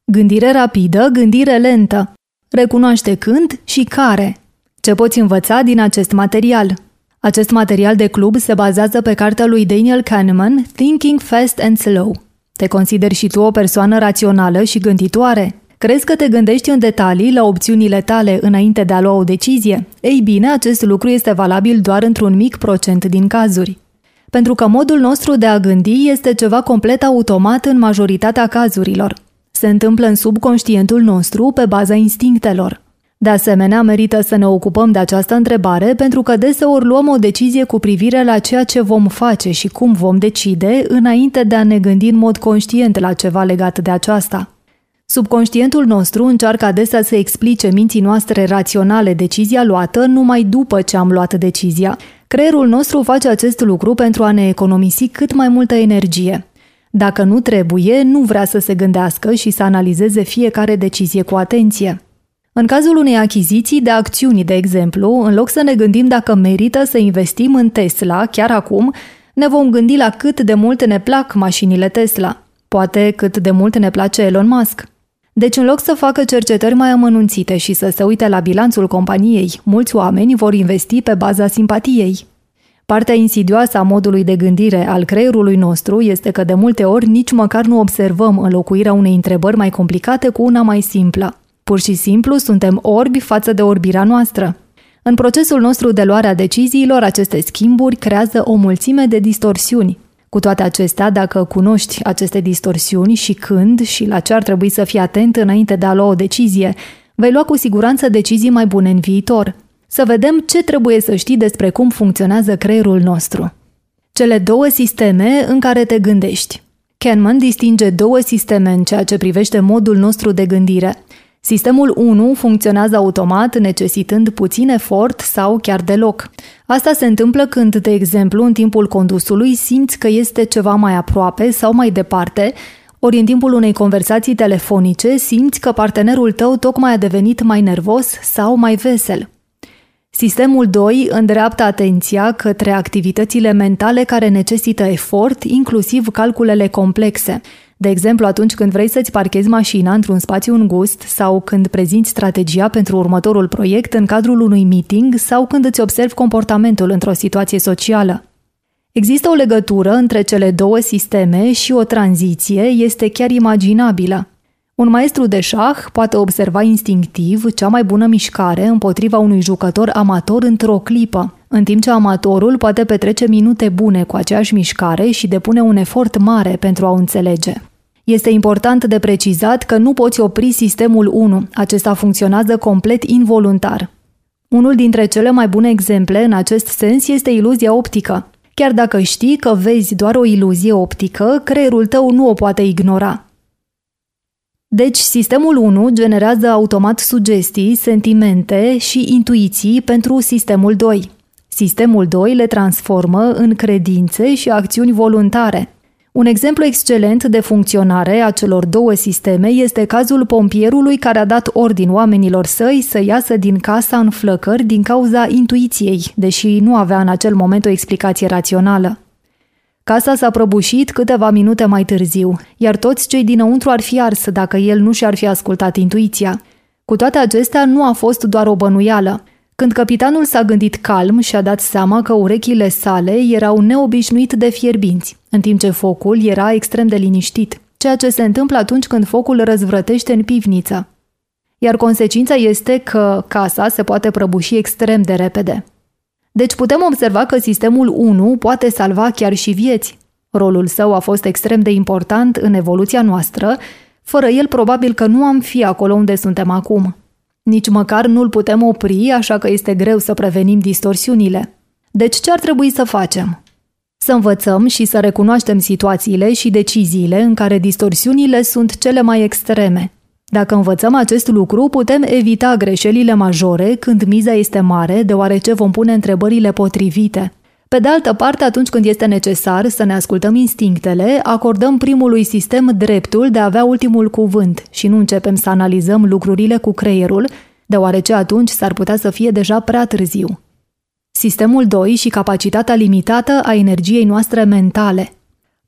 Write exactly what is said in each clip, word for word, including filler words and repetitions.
Gândire rapidă, gândire lentă. Recunoaște când și care. Ce poți învăța din acest material? Acest material de club se bazează pe cartea lui Daniel Kahneman, Thinking Fast and Slow. Te consideri și tu o persoană rațională și gânditoare? Crezi că te gândești în detalii la opțiunile tale înainte de a lua o decizie? Ei bine, acest lucru este valabil doar într-un mic procent din cazuri. Pentru că modul nostru de a gândi este ceva complet automat în majoritatea cazurilor. Se întâmplă în subconștientul nostru pe baza instinctelor. De asemenea, merită să ne ocupăm de această întrebare pentru că deseori luăm o decizie cu privire la ceea ce vom face și cum vom decide înainte de a ne gândi în mod conștient la ceva legat de aceasta. Subconștientul nostru încearcă adesea să explice minții noastre raționale decizia luată numai după ce am luat decizia. Creierul nostru face acest lucru pentru a ne economisi cât mai multă energie. Dacă nu trebuie, nu vrea să se gândească și să analizeze fiecare decizie cu atenție. În cazul unei achiziții de acțiuni, de exemplu, în loc să ne gândim dacă merită să investim în Tesla chiar acum, ne vom gândi la cât de mult ne plac mașinile Tesla. Poate cât de mult ne place Elon Musk. Deci, în loc să facă cercetări mai amănunțite și să se uite la bilanțul companiei, mulți oameni vor investi pe baza simpatiei. Partea insidioasă a modului de gândire al creierului nostru este că de multe ori nici măcar nu observăm înlocuirea unei întrebări mai complicate cu una mai simplă. Pur și simplu suntem orbi față de orbirea noastră. În procesul nostru de luare a deciziilor, aceste schimburi creează o mulțime de distorsiuni. Cu toate acestea, dacă cunoști aceste distorsiuni și când și la ce ar trebui să fii atent înainte de a lua o decizie, vei lua cu siguranță decizii mai bune în viitor. Să vedem ce trebuie să știi despre cum funcționează creierul nostru. Cele două sisteme în care te gândești. Kahneman distinge două sisteme în ceea ce privește modul nostru de gândire. Sistemul unu funcționează automat, necesitând puțin efort sau chiar deloc. Asta se întâmplă când, de exemplu, în timpul condusului simți că este ceva mai aproape sau mai departe, ori în timpul unei conversații telefonice simți că partenerul tău tocmai a devenit mai nervos sau mai vesel. Sistemul doi îndreaptă atenția către activitățile mentale care necesită efort, inclusiv calculele complexe. De exemplu, atunci când vrei să-ți parchezi mașina într-un spațiu îngust sau când prezinți strategia pentru următorul proiect în cadrul unui meeting sau când îți observi comportamentul într-o situație socială. Există o legătură între cele două sisteme și o tranziție este chiar imaginabilă. Un maestru de șah poate observa instinctiv cea mai bună mișcare împotriva unui jucător amator într-o clipă, în timp ce amatorul poate petrece minute bune cu aceeași mișcare și depune un efort mare pentru a o înțelege. Este important de precizat că nu poți opri sistemul unu, acesta funcționează complet involuntar. Unul dintre cele mai bune exemple în acest sens este iluzia optică. Chiar dacă știi că vezi doar o iluzie optică, creierul tău nu o poate ignora. Deci, sistemul unu generează automat sugestii, sentimente și intuiții pentru sistemul doi. Sistemul doi le transformă în credințe și acțiuni voluntare. Un exemplu excelent de funcționare a celor două sisteme este cazul pompierului care a dat ordin oamenilor săi să iasă din casa în flăcări din cauza intuiției, deși nu avea în acel moment o explicație rațională. Casa s-a prăbușit câteva minute mai târziu, iar toți cei dinăuntru ar fi ars dacă el nu și-ar fi ascultat intuiția. Cu toate acestea, nu a fost doar o bănuială. Când capitanul s-a gândit calm și-a dat seama că urechile sale erau neobișnuit de fierbinți, în timp ce focul era extrem de liniștit, ceea ce se întâmplă atunci când focul răzvrătește în pivniță. Iar consecința este că casa se poate prăbuși extrem de repede. Deci putem observa că sistemul unu poate salva chiar și vieți. Rolul său a fost extrem de important în evoluția noastră, fără el probabil că nu am fi acolo unde suntem acum. Nici măcar nu-l putem opri, așa că este greu să prevenim distorsiunile. Deci ce ar trebui să facem? Să învățăm și să recunoaștem situațiile și deciziile în care distorsiunile sunt cele mai extreme. Dacă învățăm acest lucru, putem evita greșelile majore când miza este mare, deoarece vom pune întrebările potrivite. Pe de altă parte, atunci când este necesar să ne ascultăm instinctele, acordăm primului sistem dreptul de a avea ultimul cuvânt și nu începem să analizăm lucrurile cu creierul, deoarece atunci s-ar putea să fie deja prea târziu. Sistemul doi și capacitatea limitată a energiei noastre mentale.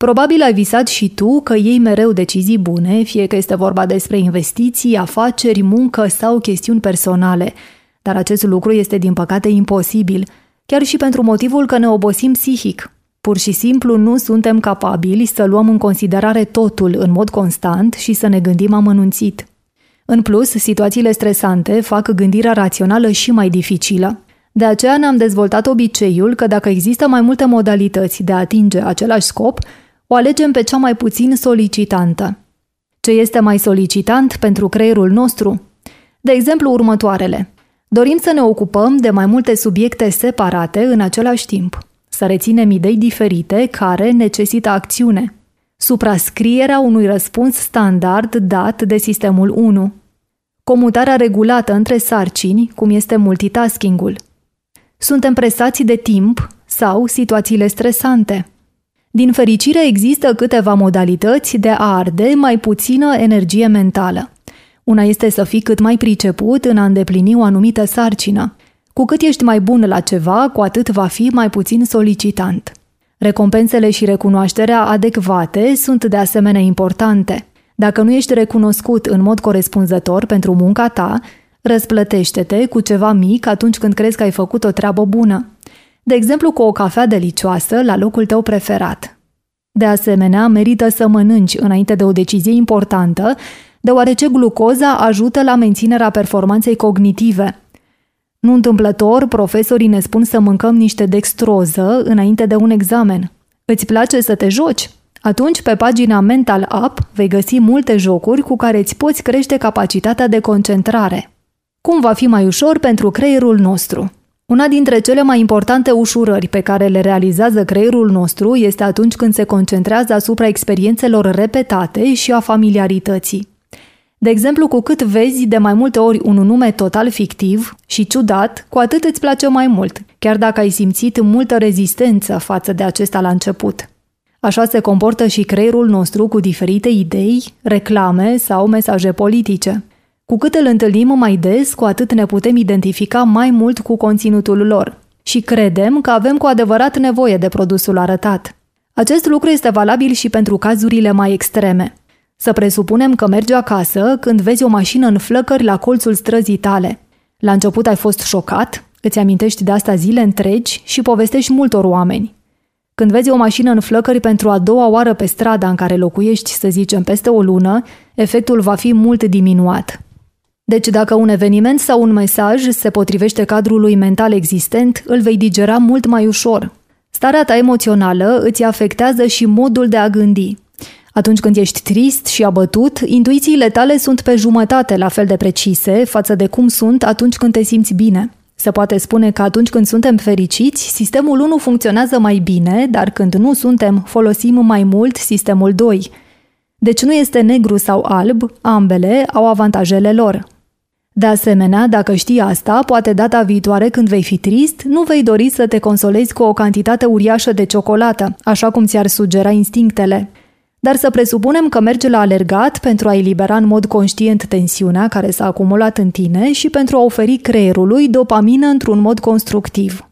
Probabil ai visat și tu că iei mereu decizii bune, fie că este vorba despre investiții, afaceri, muncă sau chestiuni personale, dar acest lucru este din păcate imposibil, chiar și pentru motivul că ne obosim psihic. Pur și simplu nu suntem capabili să luăm în considerare totul în mod constant și să ne gândim amănunțit. În plus, situațiile stresante fac gândirea rațională și mai dificilă. De aceea ne-am dezvoltat obiceiul că dacă există mai multe modalități de a atinge același scop, o alegem pe cea mai puțin solicitantă. Ce este mai solicitant pentru creierul nostru? De exemplu, următoarele. Dorim să ne ocupăm de mai multe subiecte separate în același timp, să reținem idei diferite care necesită acțiune, suprascrierea unui răspuns standard dat de sistemul unu, comutarea regulată între sarcini, cum este multitasking-ul. Suntem presați de timp sau situațiile stresante. Din fericire există câteva modalități de a arde mai puțină energie mentală. Una este să fii cât mai priceput în a îndeplini o anumită sarcină. Cu cât ești mai bun la ceva, cu atât va fi mai puțin solicitant. Recompensele și recunoașterea adecvate sunt de asemenea importante. Dacă nu ești recunoscut în mod corespunzător pentru munca ta, răsplătește-te cu ceva mic atunci când crezi că ai făcut o treabă bună. De exemplu, cu o cafea delicioasă la locul tău preferat. De asemenea, merită să mănânci înainte de o decizie importantă, deoarece glucoza ajută la menținerea performanței cognitive. Nu întâmplător, profesorii ne spun să mâncăm niște dextroză înainte de un examen. Îți place să te joci? Atunci, pe pagina Mental App vei găsi multe jocuri cu care îți poți crește capacitatea de concentrare. Cum va fi mai ușor pentru creierul nostru? Una dintre cele mai importante ușurări pe care le realizează creierul nostru este atunci când se concentrează asupra experiențelor repetate și a familiarității. De exemplu, cu cât vezi de mai multe ori un nume total fictiv și ciudat, cu atât îți place mai mult, chiar dacă ai simțit multă rezistență față de acesta la început. Așa se comportă și creierul nostru cu diferite idei, reclame sau mesaje politice. Cu cât îl întâlnim mai des, cu atât ne putem identifica mai mult cu conținutul lor și credem că avem cu adevărat nevoie de produsul arătat. Acest lucru este valabil și pentru cazurile mai extreme. Să presupunem că mergi acasă când vezi o mașină în flăcări la colțul străzii tale. La început ai fost șocat, îți amintești de asta zile întregi și povestești multor oameni. Când vezi o mașină în flăcări pentru a doua oară pe strada în care locuiești, să zicem, peste o lună, efectul va fi mult diminuat. Deci dacă un eveniment sau un mesaj se potrivește cadrului mental existent, îl vei digera mult mai ușor. Starea ta emoțională îți afectează și modul de a gândi. Atunci când ești trist și abătut, intuițiile tale sunt pe jumătate la fel de precise față de cum sunt atunci când te simți bine. Se poate spune că atunci când suntem fericiți, sistemul unu funcționează mai bine, dar când nu suntem, folosim mai mult sistemul doi. Deci nu este negru sau alb, ambele au avantajele lor. De asemenea, dacă știi asta, poate data viitoare când vei fi trist, nu vei dori să te consolezi cu o cantitate uriașă de ciocolată, așa cum ți-ar sugera instinctele. Dar să presupunem că mergi la alergat pentru a elibera în mod conștient tensiunea care s-a acumulat în tine și pentru a oferi creierului dopamină într-un mod constructiv.